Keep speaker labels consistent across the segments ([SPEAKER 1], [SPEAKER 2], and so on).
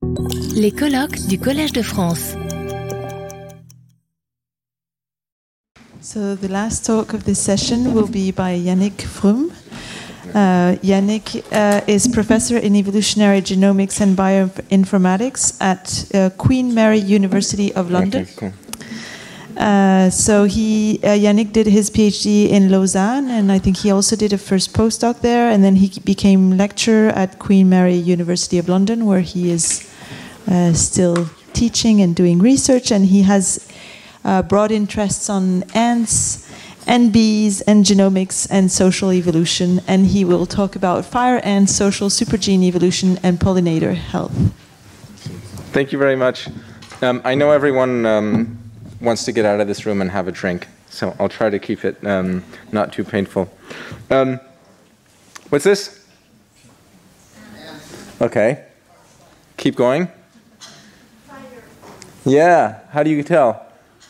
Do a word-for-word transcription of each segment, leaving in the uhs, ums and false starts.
[SPEAKER 1] Les colloques du Collège de France.
[SPEAKER 2] So the last talk of this session will be by Yannick Vroom. Uh, Yannick uh, is professor in evolutionary genomics and bioinformatics at uh, Queen Mary University of London.
[SPEAKER 3] Okay, cool.
[SPEAKER 2] Uh, so he, uh, Yannick did his PhD in Lausanne, and I think he also did a first postdoc there, and then he became lecturer at Queen Mary University of London, where he is uh, still teaching and doing research, and he has uh, broad interests on ants and bees and genomics and social evolution, and he will talk about fire ants, social supergene evolution, and pollinator health.
[SPEAKER 3] Thank you very much. Um, I know everyone um, wants to get out of this room and have a drink, so I'll try to keep it um, not too painful. Um, what's this? Okay. Keep going. Yeah, how do you tell?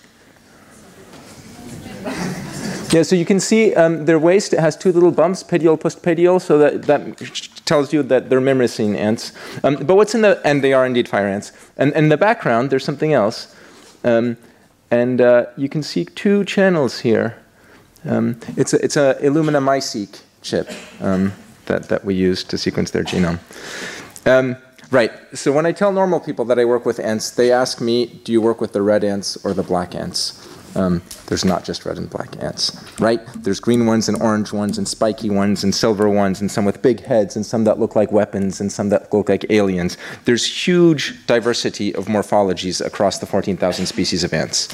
[SPEAKER 3] Yeah, so you can see um, their waist has two little bumps, pedial, postpedial, so that, that tells you that they're myrmecine ants. Um, but what's in the, and they are indeed fire ants. And, and in the background, there's something else. Um, and uh, you can see two channels here. Um, it's a, it's a Illumina MiSeq chip um, that, that we use to sequence their genome. Um, right, so when I tell normal people that I work with ants, they ask me, do you work with the red ants or the black ants? Um, there's not just red and black ants, right? There's green ones and orange ones and spiky ones and silver ones and some with big heads and some that look like weapons and some that look like aliens. There's huge diversity of morphologies across the fourteen thousand species of ants.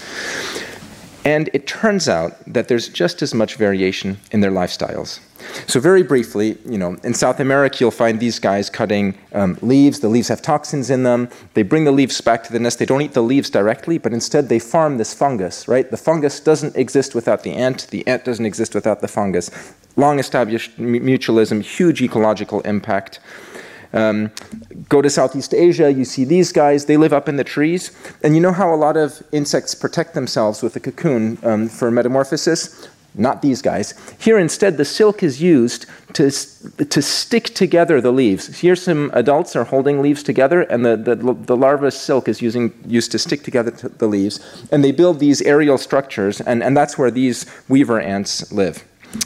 [SPEAKER 3] And it turns out that there's just as much variation in their lifestyles. So very briefly, you know, in South America, you'll find these guys cutting um, leaves. The leaves have toxins in them. They bring the leaves back to the nest. They don't eat the leaves directly, but instead they farm this fungus, right? The fungus doesn't exist without the ant. The ant doesn't exist without the fungus. Long-established mutualism, huge ecological impact. Um, go to Southeast Asia, you see these guys, they live up in the trees. And you know how a lot of insects protect themselves with a cocoon um, for metamorphosis? Not these guys. Here instead, the silk is used to, to stick together the leaves. Here some adults are holding leaves together, and the, the, the larva silk is using, used to stick together to the leaves. And they build these aerial structures, and, and that's where these weaver ants live.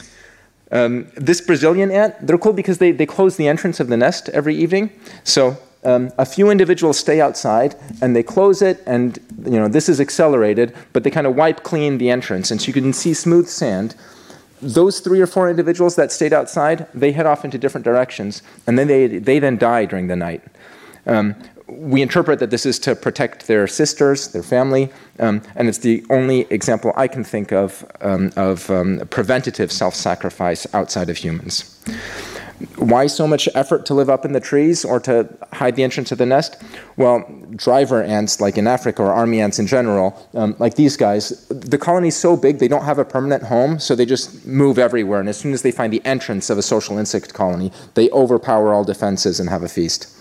[SPEAKER 3] Um, this Brazilian ant, they're cool because they, they close the entrance of the nest every evening. So um, a few individuals stay outside and they close it, and you know this is accelerated, but they kind of wipe clean the entrance. And so you can see smooth sand. Those three or four individuals that stayed outside, they head off into different directions, and then they, they then die during the night. Um, we interpret that this is to protect their sisters, their family, um, and it's the only example I can think of um, of um, preventative self-sacrifice outside of humans. Why so much effort to live up in the trees or to hide the entrance of the nest? Well, driver ants, like in Africa, or army ants in general, um, like these guys, the colony's so big they don't have a permanent home, so they just move everywhere, and as soon as they find the entrance of a social insect colony, they overpower all defenses and have a feast.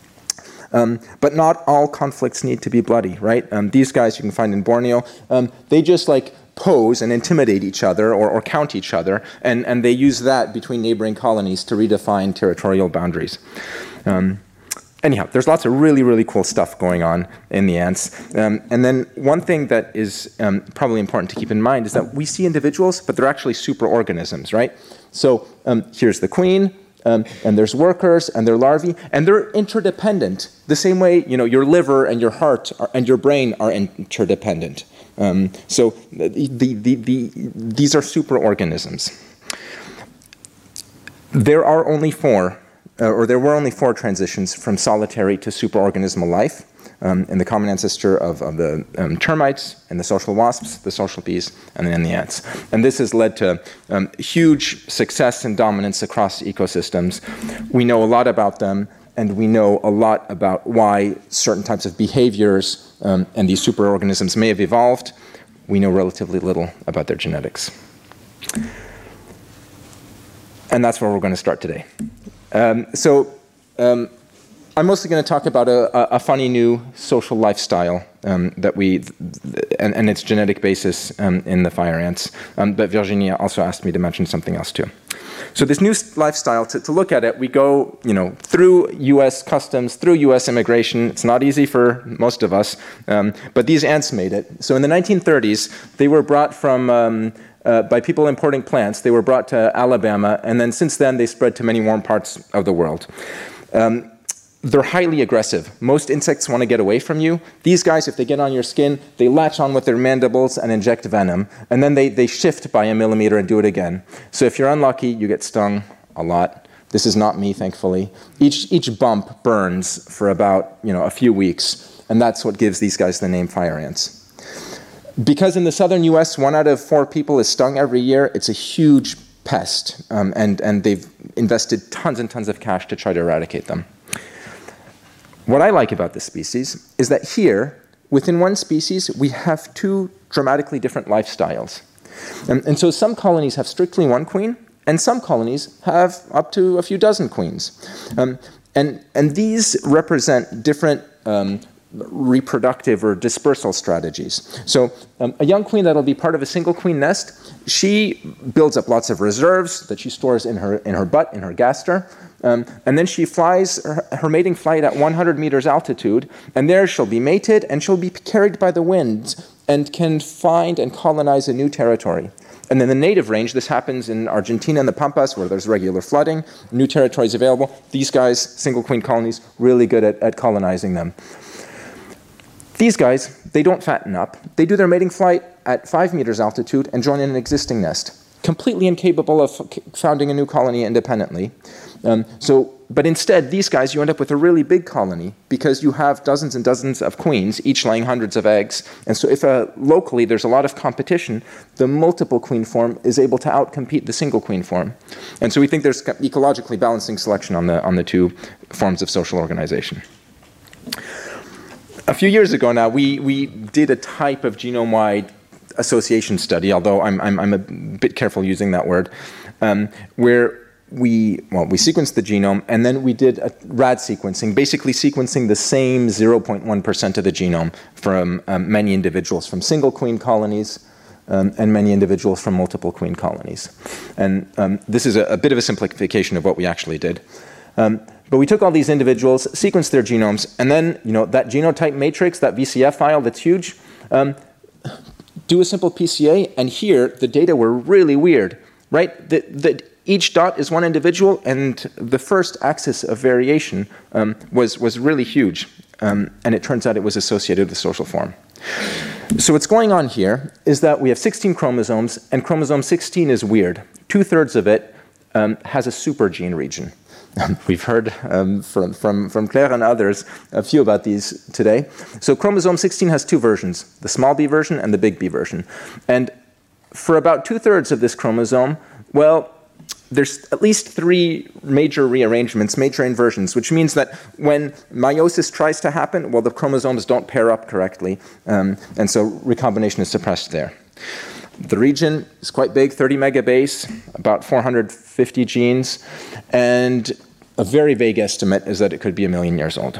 [SPEAKER 3] Um, but not all conflicts need to be bloody, right? Um, these guys you can find in Borneo, um, they just like pose and intimidate each other or, or count each other, and, and they use that between neighboring colonies to redefine territorial boundaries. Um, anyhow, there's lots of really, really cool stuff going on in the ants. Um, and then one thing that is um, probably important to keep in mind is that we see individuals, but they're actually superorganisms, right? So um, here's the queen. Um, and there's workers and their larvae, and they're interdependent. The same way, you know, your liver and your heart are, and your brain are interdependent. Um, so the, the, the, the, these are superorganisms. There are only four, uh, or there were only four transitions from solitary to superorganismal life um, in the common ancestor of, of the um, termites and the social wasps, the social bees, and then the ants. And this has led to um, huge success and dominance across ecosystems. We know a lot about them, and we know a lot about why certain types of behaviors um, and these superorganisms may have evolved. We know relatively little about their genetics. And that's where we're going to start today. Um, so um, I'm mostly going to talk about a, a funny new social lifestyle um, that we, and, and its genetic basis um, in the fire ants. Um, but Virginia also asked me to mention something else too. So this new lifestyle, to, to look at it, we go, you know, through U S customs, through U S immigration. It's not easy for most of us, um, but these ants made it. So in the nineteen thirties, they were brought from, um, uh, by people importing plants, they were brought to Alabama, and then since then they spread to many warm parts of the world. Um, They're highly aggressive. Most insects want to get away from you. These guys, if they get on your skin, they latch on with their mandibles and inject venom. And then they, they shift by a millimeter and do it again. So if you're unlucky, you get stung a lot. This is not me, thankfully. Each, each bump burns for about you know, a few weeks. And that's what gives these guys the name fire ants. Because in the southern U S, one out of four people is stung every year, it's a huge pest. Um, and, and they've invested tons and tons of cash to try to eradicate them. What I like about this species is that here, within one species, we have two dramatically different lifestyles. And, and so some colonies have strictly one queen, and some colonies have up to a few dozen queens. Um, and, and these represent different um, reproductive or dispersal strategies. So um, a young queen that'll be part of a single queen nest, she builds up lots of reserves that she stores in her, in her butt, in her gaster. Um, and then she flies her, her mating flight at one hundred meters altitude, and there she'll be mated, and she'll be carried by the winds and can find and colonize a new territory. And in the native range, this happens in Argentina and the Pampas, where there's regular flooding, new territories available. These guys, single queen colonies, really good at, at colonizing them. These guys, they don't fatten up. They do their mating flight at five meters altitude and join in an existing nest, completely incapable of founding a new colony independently. Um, so, but instead, these guys, you end up with a really big colony because you have dozens and dozens of queens, each laying hundreds of eggs. And so if uh, locally there's a lot of competition, the multiple queen form is able to outcompete the single queen form. And so we think there's ecologically balancing selection on the, on the two forms of social organization. A few years ago now, we, we did a type of genome-wide association study, although I'm, I'm, I'm a bit careful using that word, um, where we, well, we sequenced the genome, and then we did a rad sequencing, basically sequencing the same zero point one percent of the genome from um, many individuals from single queen colonies um, and many individuals from multiple queen colonies. And um, this is a, a bit of a simplification of what we actually did. Um, but we took all these individuals, sequenced their genomes, and then, you know, that genotype matrix, that V C F file that's huge, um, do a simple P C A, and here the data were really weird, right? The, the, each dot is one individual, and the first axis of variation um, was, was really huge, um, and it turns out it was associated with social form. So what's going on here is that we have sixteen chromosomes, and chromosome sixteen is weird. Two-thirds of it um, has a super gene region. We've heard um, from, from, from Claire and others a few about these today. So chromosome sixteen has two versions, the small b version and the big B version. And for about two-thirds of this chromosome, well, there's at least three major rearrangements, major inversions, which means that when meiosis tries to happen, well, the chromosomes don't pair up correctly, um, and so recombination is suppressed there. The region is quite big, thirty megabase, about four hundred fifty genes, and a very vague estimate is that it could be a million years old.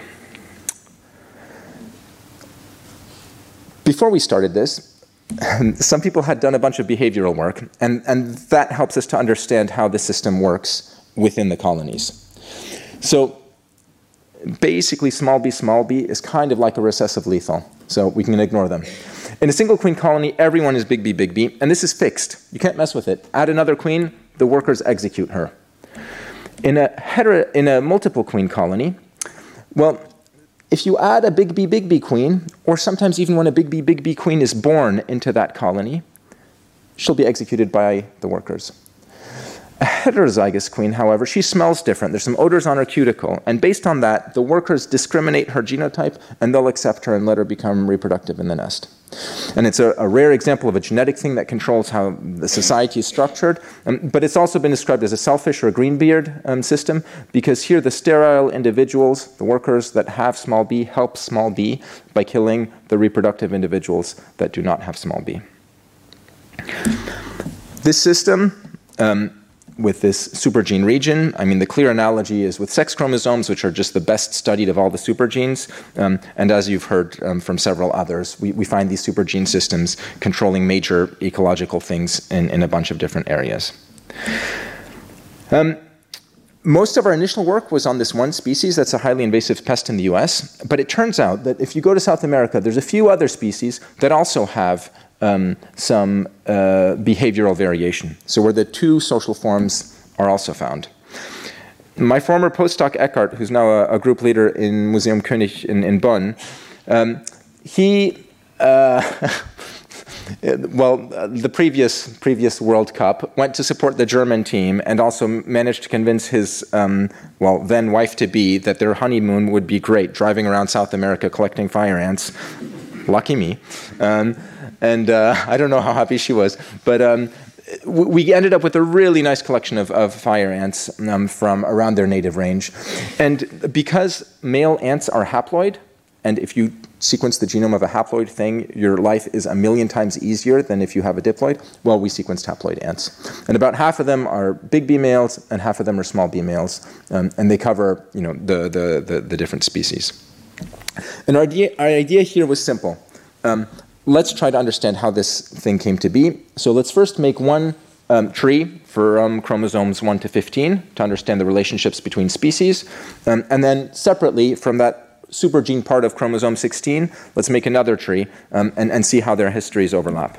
[SPEAKER 3] Before we started this, some people had done a bunch of behavioral work, and, and that helps us to understand how the system works within the colonies. So basically, small b, small b is kind of like a recessive lethal, so we can ignore them. In a single queen colony, everyone is big B, big B, and this is fixed. You can't mess with it. Add another queen, the workers execute her. In a, hetero, in a multiple queen colony, well, if you add a big B, big B queen, or sometimes even when a big B, big B queen is born into that colony, she'll be executed by the workers. A heterozygous queen, however, she smells different. There's some odors on her cuticle, and based on that, the workers discriminate her genotype, and they'll accept her and let her become reproductive in the nest. And it's a, a rare example of a genetic thing that controls how the society is structured, um, but it's also been described as a selfish or a greenbeard um, system, because here the sterile individuals, the workers that have small b, help small b by killing the reproductive individuals that do not have small b. This system um, with this supergene region. I mean, the clear analogy is with sex chromosomes, which are just the best studied of all the supergenes. Um, and as you've heard um, from several others, we, we find these supergene systems controlling major ecological things in, in a bunch of different areas. Um, Most of our initial work was on this one species that's a highly invasive pest in the U S, but it turns out that if you go to South America, there's a few other species that also have um, some uh, behavioral variation. So where the two social forms are also found. My former postdoc Eckhart, who's now a, a group leader in Museum König in, in Bonn, um, he uh, well, uh, the previous previous World Cup went to support the German team and also managed to convince his, um, well, then wife-to-be that their honeymoon would be great, driving around South America collecting fire ants. Lucky me. Um, and uh, I don't know how happy she was. But um, we ended up with a really nice collection of, of fire ants um, from around their native range. And because male ants are haploid, and if you sequence the genome of a haploid thing, your life is a million times easier than if you have a diploid. Well, we sequenced haploid ants. And about half of them are big B males, and half of them are small B males. Um, and they cover, you know, the, the, the, the different species. And our idea, our idea here was simple. Um, let's try to understand how this thing came to be. So let's first make one um, tree for um, chromosomes one to fifteen to understand the relationships between species. Um, and then separately from that supergene part of chromosome sixteen, let's make another tree um, and, and see how their histories overlap.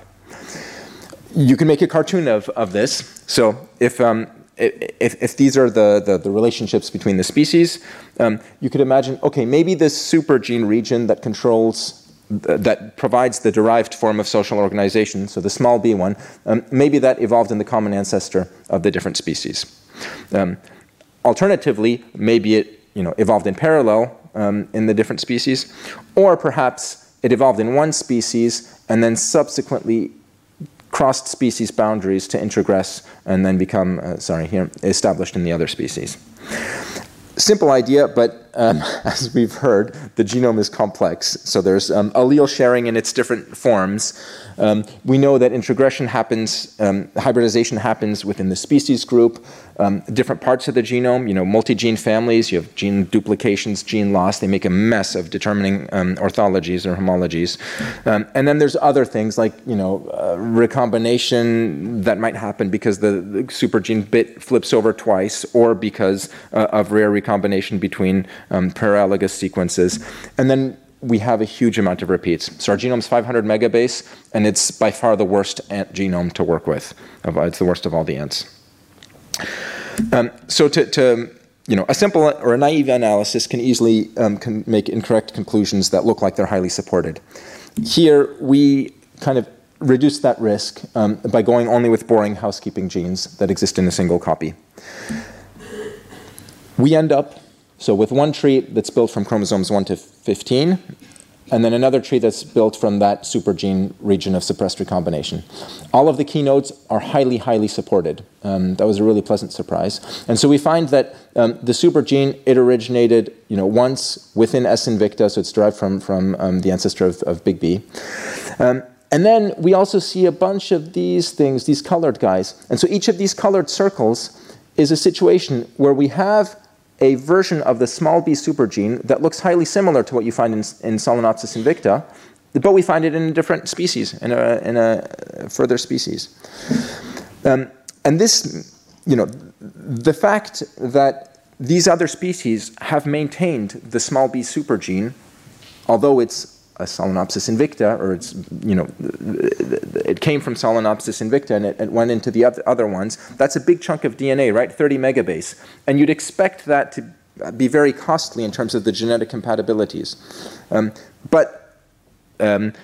[SPEAKER 3] You can make a cartoon of, of this. So if, um, if, if these are the, the, the relationships between the species, um, you could imagine, okay, maybe this supergene region that controls, th that provides the derived form of social organization, so the small b one, um, maybe that evolved in the common ancestor of the different species. Um, alternatively, maybe it you know, evolved in parallel Um, in the different species, or perhaps it evolved in one species and then subsequently crossed species boundaries to introgress and then become, uh, sorry, here, established in the other species. Simple idea, but um, as we've heard, the genome is complex. So there's um, allele sharing in its different forms. Um, we know that introgression happens, um, hybridization happens within the species group. Um, different parts of the genome, you know, multi-gene families, you have gene duplications, gene loss. They make a mess of determining um, orthologies or homologies. Um, and then there's other things like, you know, uh, recombination that might happen because the, the supergene bit flips over twice, or because uh, of rare recombination between um, paralogous sequences. And then we have a huge amount of repeats. So our genome's five hundred megabase, and it's by far the worst ant genome to work with. It's the worst of all the ants. Um, so to, to, you know, a simple or a naive analysis can easily um, can make incorrect conclusions that look like they're highly supported. Here, we kind of reduce that risk um, by going only with boring housekeeping genes that exist in a single copy. We end up, so with one tree that's built from chromosomes one to fifteen, and then another tree that's built from that supergene region of suppressed recombination. All of the keynotes are highly, highly supported. Um, that was a really pleasant surprise. And so we find that um, the supergene, it originated you know, once within S. invicta, so it's derived from, from um, the ancestor of, of big B. Um, and then we also see a bunch of these things, these colored guys. And so each of these colored circles is a situation where we have a version of the small b supergene that looks highly similar to what you find in, in Solenopsis invicta, but we find it in a different species, in a, in a further species. Um, and this, you know, the fact that these other species have maintained the small b supergene, although it's a Solenopsis invicta, or it's, you know, it came from Solenopsis invicta and it, it went into the other ones, that's a big chunk of D N A, right? thirty megabase. And you'd expect that to be very costly in terms of the genetic compatibilities. Um, but um,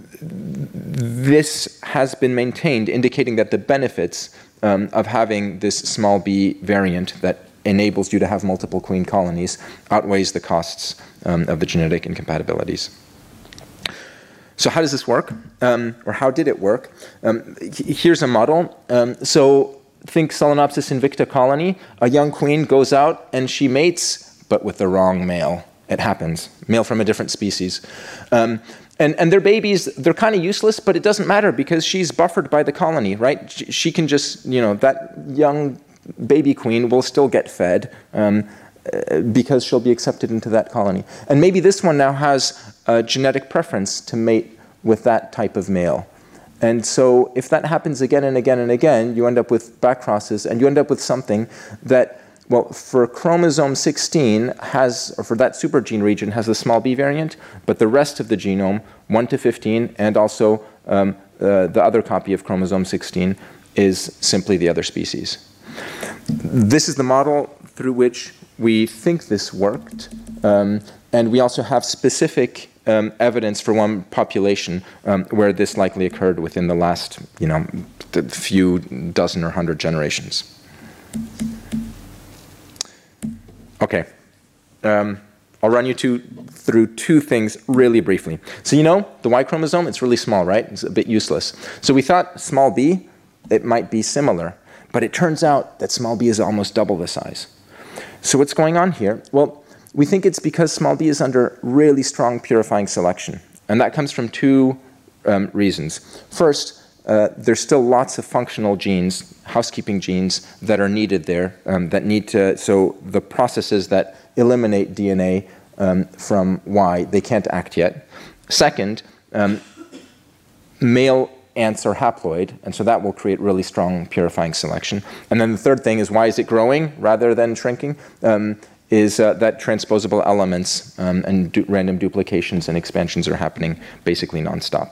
[SPEAKER 3] this has been maintained, indicating that the benefits um, of having this small b variant that enables you to have multiple queen colonies outweighs the costs um, of the genetic incompatibilities. So how does this work? Um, or how did it work? Um, here's a model. Um, so think Solenopsis invicta colony. A young queen goes out and she mates, but with the wrong male. It happens. Male from a different species. Um, and, and their babies, they're kind of useless, but it doesn't matter because she's buffered by the colony, right? She, she can just, you know, that young baby queen will still get fed um, uh, because she'll be accepted into that colony. And maybe this one now has a genetic preference to mate with that type of male. And so if that happens again and again and again, you end up with back crosses, and you end up with something that, well, for chromosome sixteen has, or for that supergene region, has the small b variant, but the rest of the genome, one to fifteen, and also um, uh, the other copy of chromosome sixteen, is simply the other species. This is the model through which we think this worked, um, and we also have specific Um, evidence for one population um, where this likely occurred within the last, you know, few dozen or hundred generations. Okay, um, I'll run you two, through two things really briefly. So you know, the Y chromosome, it's really small, right? It's a bit useless. So we thought small b, it might be similar, but it turns out that small b is almost double the size. So what's going on here? Well, we think it's because small b is under really strong purifying selection. And that comes from two um, reasons. First, uh, there's still lots of functional genes, housekeeping genes, that are needed there, um, that need to, so the processes that eliminate D N A um, from Y, they can't act yet. Second, um, male ants are haploid, and so that will create really strong purifying selection. And then the third thing is, why is it growing rather than shrinking? Um, is uh, that transposable elements um, and du random duplications and expansions are happening basically nonstop.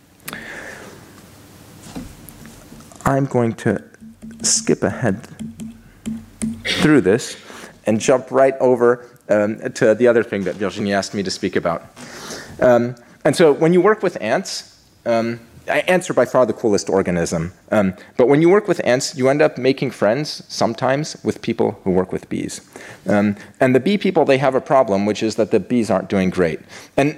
[SPEAKER 3] I'm going to skip ahead through this and jump right over um, to the other thing that Virginie asked me to speak about. Um, and so when you work with ants, um, ants are by far the coolest organism. Um, but when you work with ants, you end up making friends sometimes with people who work with bees. Um, and the bee people, they have a problem, which is that the bees aren't doing great. And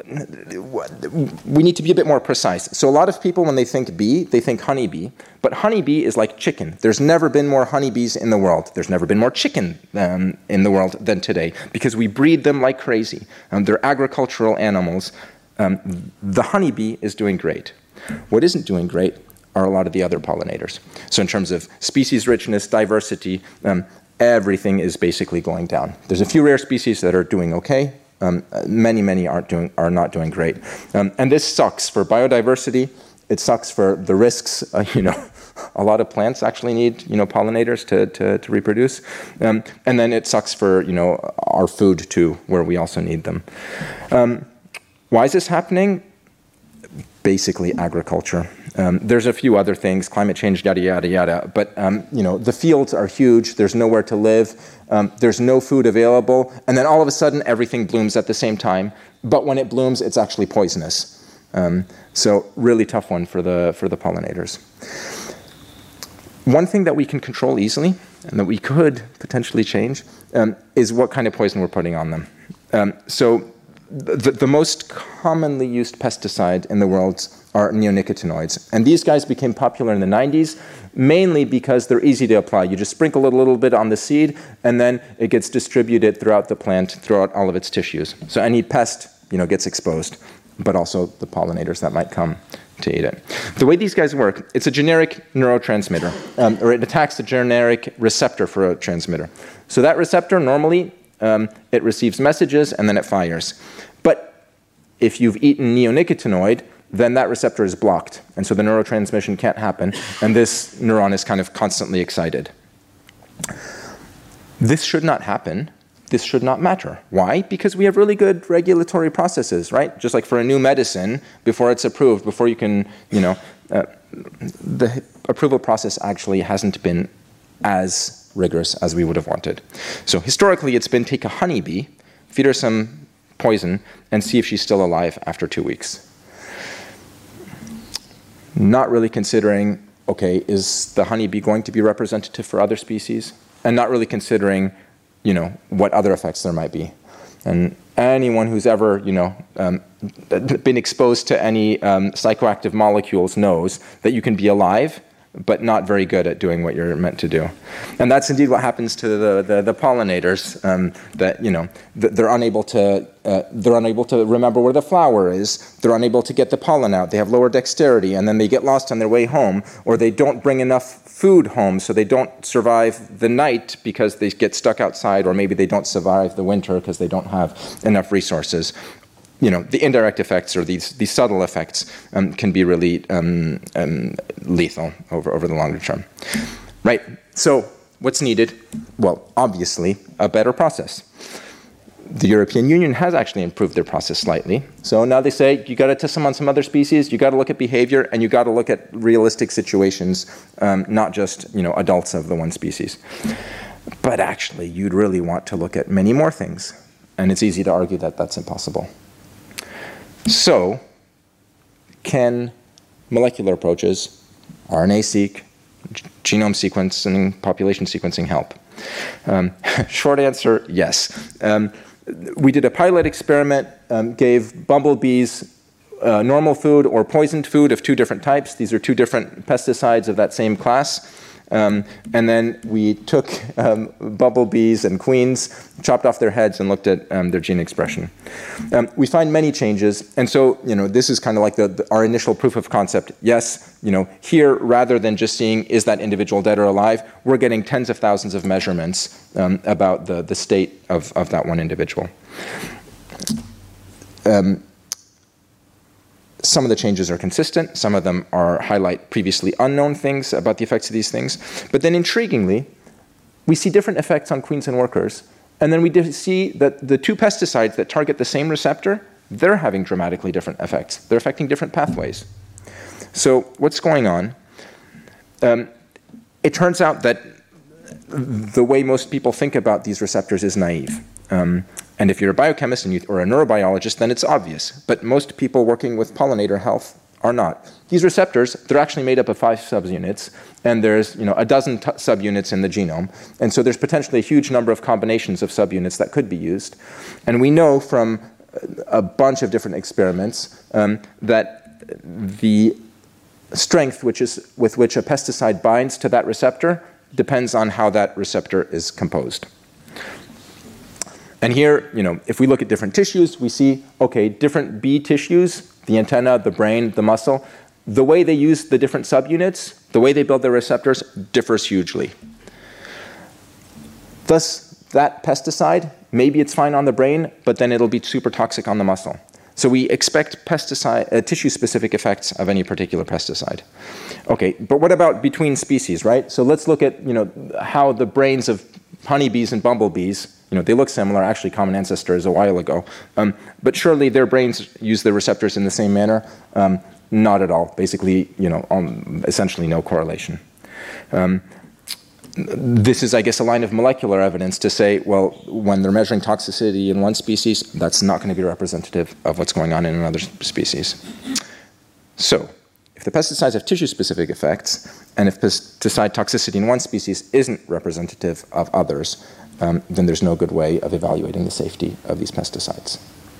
[SPEAKER 3] we need to be a bit more precise. So a lot of people, when they think bee, they think honeybee. But honeybee is like chicken. There's never been more honeybees in the world. There's never been more chicken um, in the world than today, because we breed them like crazy. Um, they're agricultural animals. Um, the honeybee is doing great. What isn't doing great are a lot of the other pollinators. So in terms of species richness, diversity, um, everything is basically going down. There's a few rare species that are doing okay. Um, many, many aren't doing, are not doing great. Um, and this sucks for biodiversity. It sucks for the risks. Uh, you know, a lot of plants actually need, you know, pollinators to, to, to reproduce. Um, and then it sucks for, you know, our food too, where we also need them. Um, why is this happening? Basically agriculture. Um, there's a few other things, climate change, yada, yada, yada. But um, you know, the fields are huge. There's nowhere to live. Um, there's no food available. And then all of a sudden, everything blooms at the same time. But when it blooms, it's actually poisonous. Um, so really tough one for the, for the pollinators. One thing that we can control easily, and that we could potentially change, um, is what kind of poison we're putting on them. Um, so The, the most commonly used pesticide in the world are neonicotinoids. And these guys became popular in the nineties, mainly because they're easy to apply. You just sprinkle a little bit on the seed, and then it gets distributed throughout the plant, throughout all of its tissues. So any pest, you know, gets exposed, but also the pollinators that might come to eat it. The way these guys work, it's a generic neurotransmitter, um, or it attacks the generic receptor for a transmitter. So that receptor, normally, Um, it receives messages and then it fires. But if you've eaten neonicotinoid, then that receptor is blocked. And so the neurotransmission can't happen. And this neuron is kind of constantly excited. This should not happen. This should not matter. Why? Because we have really good regulatory processes, right? Just like for a new medicine, before it's approved, before you can, you know, uh, the approval process actually hasn't been as rigorous as we would have wanted. So historically, it's been take a honeybee, feed her some poison, and see if she's still alive after two weeks. Not really considering, okay, is the honeybee going to be representative for other species? And not really considering, you know, what other effects there might be. And anyone who's ever, you know, um, been exposed to any um, psychoactive molecules knows that you can be alive but not very good at doing what you're meant to do. And that's indeed what happens to the, the, the pollinators, um, that, you know, they're unable to, uh, they're unable to remember where the flower is, they're unable to get the pollen out, they have lower dexterity, and then they get lost on their way home, or they don't bring enough food home, so they don't survive the night because they get stuck outside, or maybe they don't survive the winter because they don't have enough resources. You know, the indirect effects, or these, these subtle effects, um, can be really um, um, lethal over, over the longer term. Right, so what's needed? Well, obviously, a better process. The European Union has actually improved their process slightly. So now they say, you gotta test them on some other species, you gotta look at behavior, and you gotta look at realistic situations, um, not just, you know, adults of the one species. But actually, you'd really want to look at many more things. And it's easy to argue that that's impossible. So, can molecular approaches, R N A-seq, genome sequencing, population sequencing help? Um, short answer, yes. Um, we did a pilot experiment, um, gave bumblebees uh, normal food or poisoned food of two different types. These are two different pesticides of that same class. Um, and then we took um, bumblebees and queens, chopped off their heads, and looked at um, their gene expression. Um, we find many changes, and so, you know, this is kind of like the, the, our initial proof of concept. Yes, you know, here, rather than just seeing is that individual dead or alive, we're getting tens of thousands of measurements um, about the, the state of, of that one individual. Um, Some of the changes are consistent. Some of them are highlight previously unknown things about the effects of these things. But then intriguingly, we see different effects on queens and workers. And then we see that the two pesticides that target the same receptor, they're having dramatically different effects. They're affecting different pathways. So what's going on? Um, it turns out that the way most people think about these receptors is naive. Um, And if you're a biochemist and you, or a neurobiologist, then it's obvious. But most people working with pollinator health are not. These receptors, they're actually made up of five subunits, and there's, you know, a dozen t subunits in the genome. And so there's potentially a huge number of combinations of subunits that could be used. And we know from a bunch of different experiments um, that the strength which is, with which a pesticide binds to that receptor depends on how that receptor is composed. And here, you know, if we look at different tissues, we see, okay, different bee tissues, the antenna, the brain, the muscle, the way they use the different subunits, the way they build their receptors differs hugely. Thus, that pesticide, maybe it's fine on the brain, but then it'll be super toxic on the muscle. So we expect pesticide, uh, tissue-specific effects of any particular pesticide. Okay, but what about between species, right? So let's look at, you know, how the brains of honeybees and bumblebees, you know, they look similar, actually common ancestors a while ago. Um, but surely their brains use the receptors in the same manner? Um, not at all. Basically, you know, um, essentially no correlation. Um, this is, I guess, a line of molecular evidence to say, well, when they're measuring toxicity in one species, that's not going to be representative of what's going on in another species. So, if the pesticides have tissue-specific effects, and if pesticide toxicity in one species isn't representative of others, um, then there's no good way of evaluating the safety of these pesticides.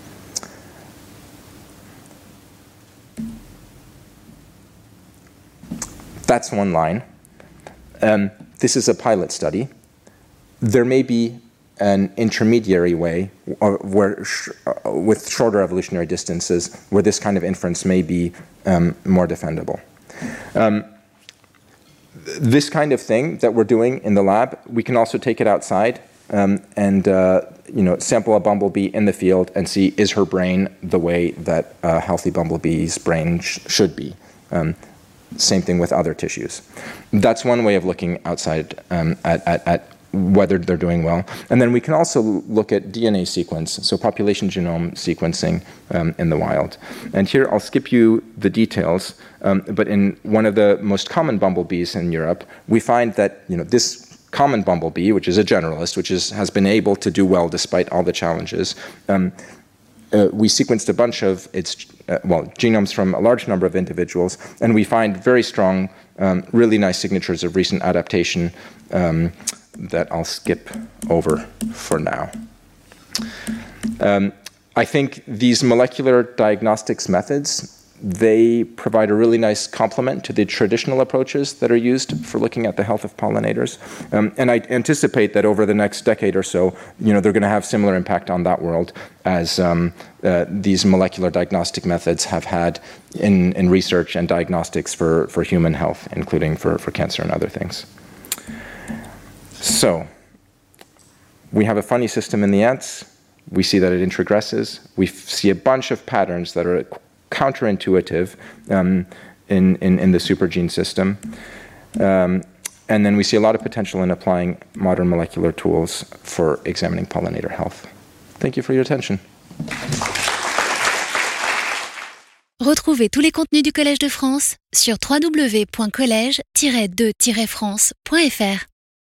[SPEAKER 3] That's one line. Um, this is a pilot study. There may be an intermediary way or where sh uh, with shorter evolutionary distances where this kind of inference may be um, more defendable. Um, this kind of thing that we're doing in the lab, we can also take it outside um, and uh, you know, sample a bumblebee in the field and see, is her brain the way that a healthy bumblebee's brain sh should be. Um, same thing with other tissues. That's one way of looking outside um, at, at, at whether they're doing well. And then we can also look at D N A sequence, so population genome sequencing um, in the wild. And here I'll skip you the details, um, but in one of the most common bumblebees in Europe, we find that, you know, this common bumblebee, which is a generalist, which is, has been able to do well despite all the challenges, um, uh, we sequenced a bunch of its, uh, well, genomes from a large number of individuals, and we find very strong, um, really nice signatures of recent adaptation um, that I'll skip over for now. Um, I think these molecular diagnostics methods they provide a really nice complement to the traditional approaches that are used for looking at the health of pollinators. Um, and I anticipate that over the next decade or so, you know, they're going to have similar impact on that world as um, uh, these molecular diagnostic methods have had in, in research and diagnostics for, for human health, including for, for cancer and other things. So, we have a funny system in the ants. We see that it introgresses. We see a bunch of patterns that are counterintuitive um, in, in, in the supergene system. Um, and then we see a lot of potential in applying modern molecular tools for examining pollinator health. Thank you for your attention.
[SPEAKER 1] Retrouvez tous les contenus du Collège de France sur w w w point collège tiret de tiret france point f r.